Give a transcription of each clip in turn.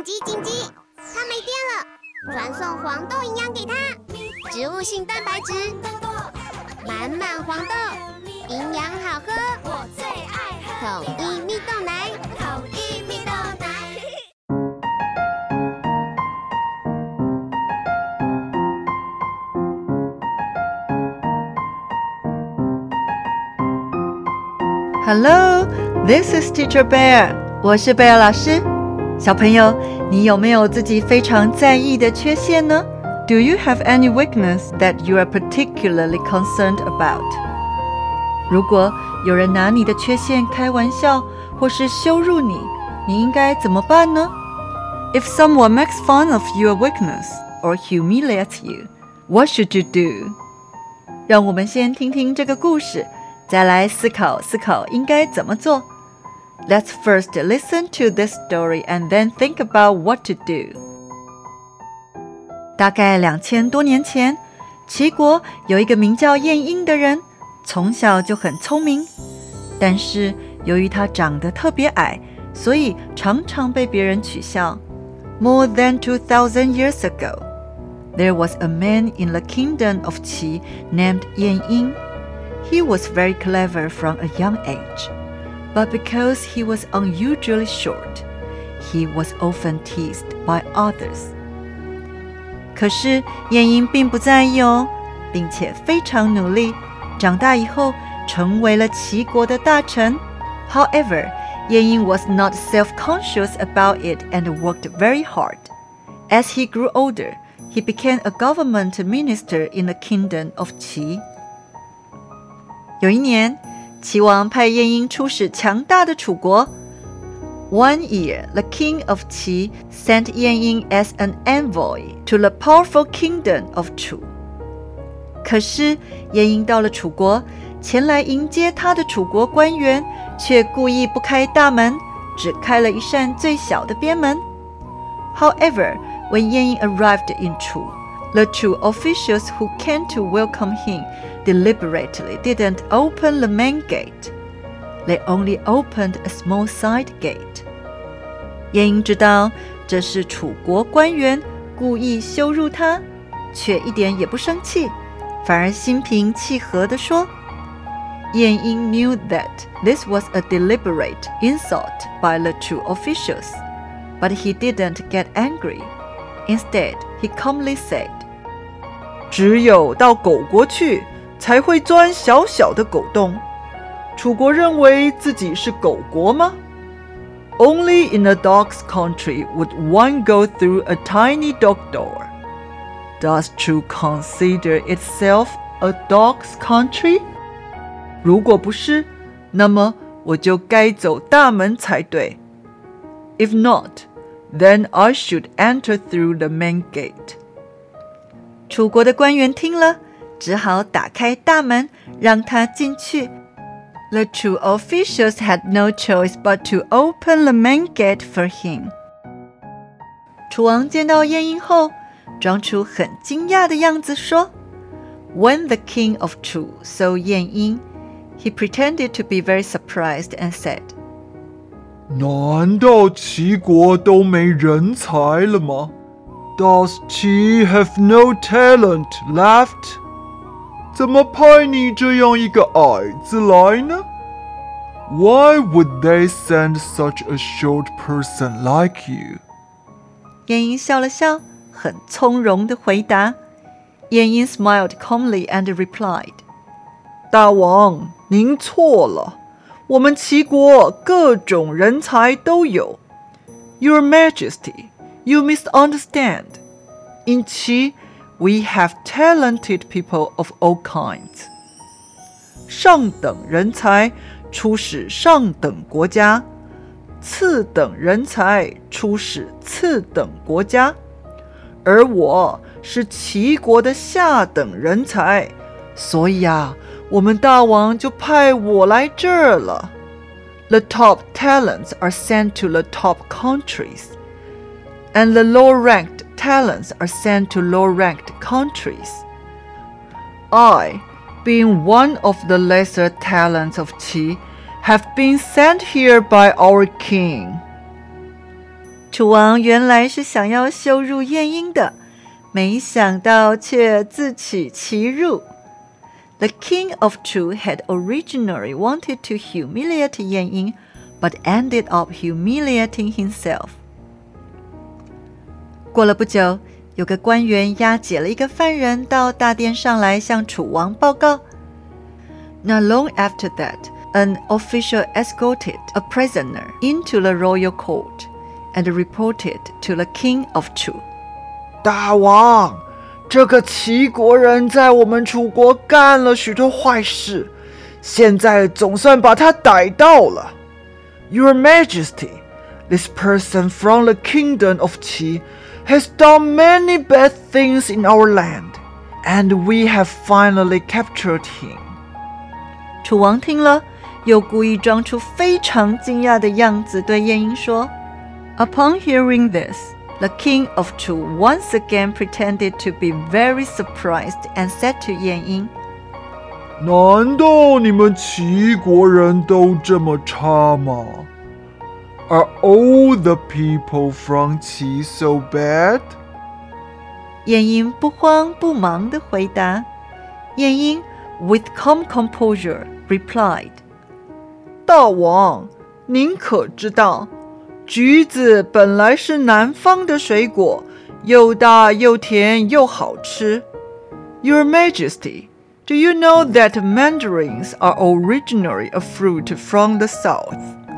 緊急！它沒電了，傳送黃豆營養給它，植物性蛋白質，滿滿黃豆，營養好喝，我最愛喝統一蜜豆奶，統一蜜豆奶。 Hello, this is Teacher Bear. 我是贝尔老師。小朋友，你有沒有自己非常在意的缺陷呢？ Do you have any weakness that you are particularly concerned about? 如果有人拿你的缺陷開玩笑，或是羞辱你，你應該怎麼辦呢？ If someone makes fun of your weakness or humiliates you, what should you do? 讓我們先聽聽這個故事，再來思考應該怎麼做。Let's first listen to this story and then think about what to do. 大概2000多年前，齊國有一個名叫晏嬰的人，從小就很聰明，但是由於他長得特別矮，所以常常被別人取笑。More than 2,000 years ago, there was a man in the kingdom of Qi named 晏嬰. He was very clever from a young age.But because he was unusually short, he was often teased by others. 可是晏嬰並不在意哦，並且非常努力，長大以後成為了齊國的大臣。However, 晏嬰 was not self-conscious about it and worked very hard. As he grew older, he became a government minister in the kingdom of Qi. 有一年，齊王派晏嬰出使強大的楚國。One year, the king of Qi sent 晏嬰 as an envoy to the powerful kingdom of Chu. 可是晏嬰到了楚國，前來迎接他的楚國官員卻故意不開大門，只開了一扇最小的邊門。However, when 晏嬰 arrived in Chu, the Chu officials who came to welcome him deliberately didn't open the main gate. They only opened a small side gate. 晏嬰知道這是楚國官員故意羞辱他，卻一點也不生氣，反而心平氣和地說。晏嬰 knew that this was a deliberate insult by the Chu officials, but he didn't get angry. Instead, he calmly said, 只有到狗國去才會鑽小小的狗洞。楚國認為自己是狗國嗎？ Only in a dog's country would one go through a tiny dog door. Does Chu consider itself a dog's country? 如果不是，那麼我就該走大門才對。If not, then I should enter through the main gate. 楚國的官員聽了，只好打開大門，讓他進去。The Chu officials had no choice but to open the main gate for him. 楚王見到晏嬰後，裝出很驚訝的樣子說 When the king of Chu saw 晏嬰, he pretended to be very surprised and said, 難道齊國都沒人才了嗎？ Does Qi have no talent left?怎麼派你這樣一個矮子來呢？ Why would they send such a short person like you? 晏嬰笑了笑，很從容地回答。晏嬰 smiled calmly and replied, 大王，您錯了，我們齊國各種人才都有。Your Majesty, you misunderstand. In Qi, we have talented people of all kinds. 上等人才出使上等國家，次等人才出使次等國家，而我是齊國的下等人才，所以啊，我們大王就派我來這兒了。The top talents are sent to the top countries, and the low-ranked talents are sent to low-ranked countries. I, being one of the lesser talents of Qi, have been sent here by our king. 楚王原來是想要羞辱晏嬰的，沒想到卻自取其辱。The king of Chu had originally wanted to humiliate 晏嬰 but ended up humiliating himself. 過了不久，有個官員押解了一個犯人到大殿上來向楚王報告。Not long after that, an official escorted a prisoner into the royal court and reported to the king of Chu. 大王，這個齊國人在我們楚國幹了許多壞事，現在總算把他逮到了。Your Majesty, this person from the kingdom of Qi has done many bad things in our land, and we have finally captured him. 楚王聽了，又故意裝出非常驚訝的樣子，對晏嬰說。Upon hearing this, the king of Chu once again pretended to be very surprised and said to 晏嬰， 難道你們齊國人都這麼差嗎？ Are all the people from Qi so bad? 晏嬰不慌不忙地回答。晏嬰 with calm composure replied, 大王，您可知道，橘子本來是南方的水果，又大又甜又好吃。Your Majesty, do you know that mandarins are originally a fruit from the south?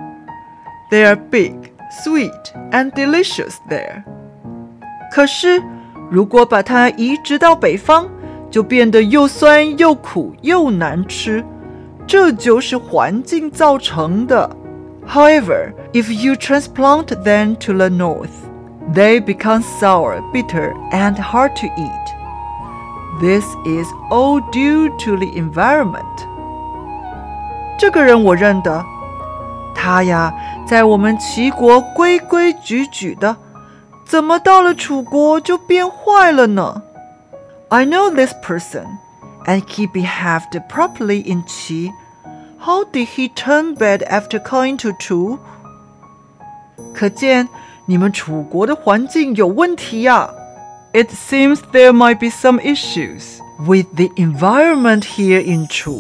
They are big, sweet, and delicious there. 可是，如果把它移植到北方，就變得又酸又苦又難吃，這就是環境造成的。However, if you transplant them to the north, they become sour, bitter, and hard to eat. This is all due to the environment. 這個人我認得，他呀，在我們齊國規規矩矩的，怎麼到了楚國就變壞了呢？ I know this person, and he behaved properly in Qi. How did he turn bad after coming to Chu? 可見你們楚國的環境有問題呀。It seems there might be some issues with the environment here in Chu.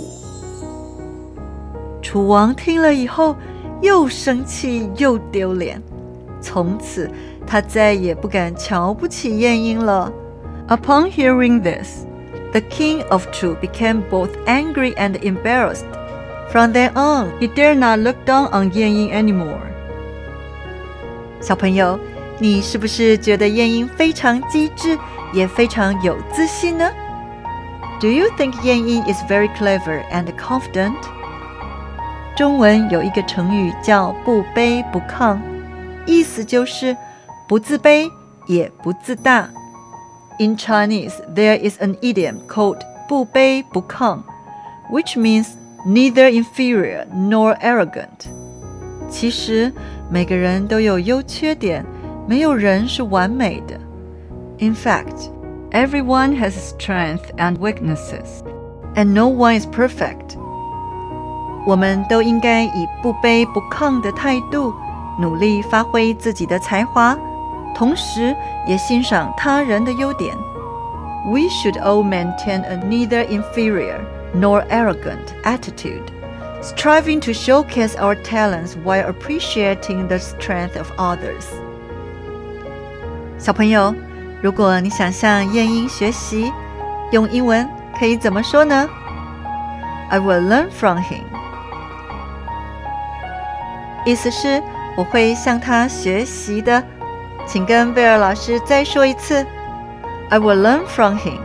楚王聽了以後，又生氣又丟臉，從此他再也不敢瞧不起晏嬰了。Upon hearing this, the king of Chu became both angry and embarrassed. From then on, he dare not look down on 晏嬰 anymore. 小朋友，你是不是覺得晏嬰非常機智，也非常有自信呢？ Do you think 晏嬰 is very clever and confident? 中文有一個成語叫不卑不亢，意思就是不自卑也不自大。In Chinese, there is an idiom called 不卑不亢, which means neither inferior nor arrogant. 其實每個人都有優缺點，沒有人是完美的。In fact, everyone has strengths and weaknesses, and no one is perfect. 我們都應該以不卑不亢的態度，努力發揮自己的才華，同時也欣賞他人的優點。We should all maintain a neither inferior nor arrogant attitude, striving to showcase our talents while appreciating the strength of others. 小朋友，如果你想向晏嬰學習，用英文可以怎麼說呢？ I will learn from him. 意思是我會向他學習的。請跟貝爾老師再說一次。I will learn from him.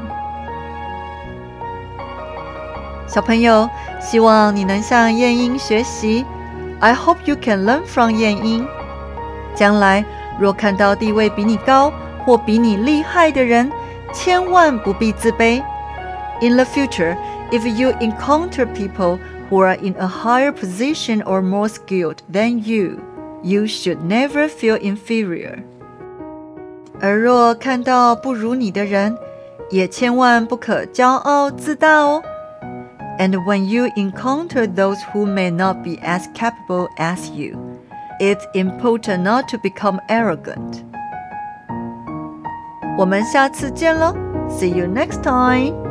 小朋友，希望你能向晏嬰學習。I hope you can learn from 晏嬰。將來若看到地位比你高或比你厲害的人，千萬不必自卑。In the future, if you encounter people who are in a higher position or more skilled than you, you should never feel inferior. 而若看到不如你的人，也千萬不可驕傲自大哦。And when you encounter those who may not be as capable as you, It's important not to become arrogant. 我們下次見了 See you next time!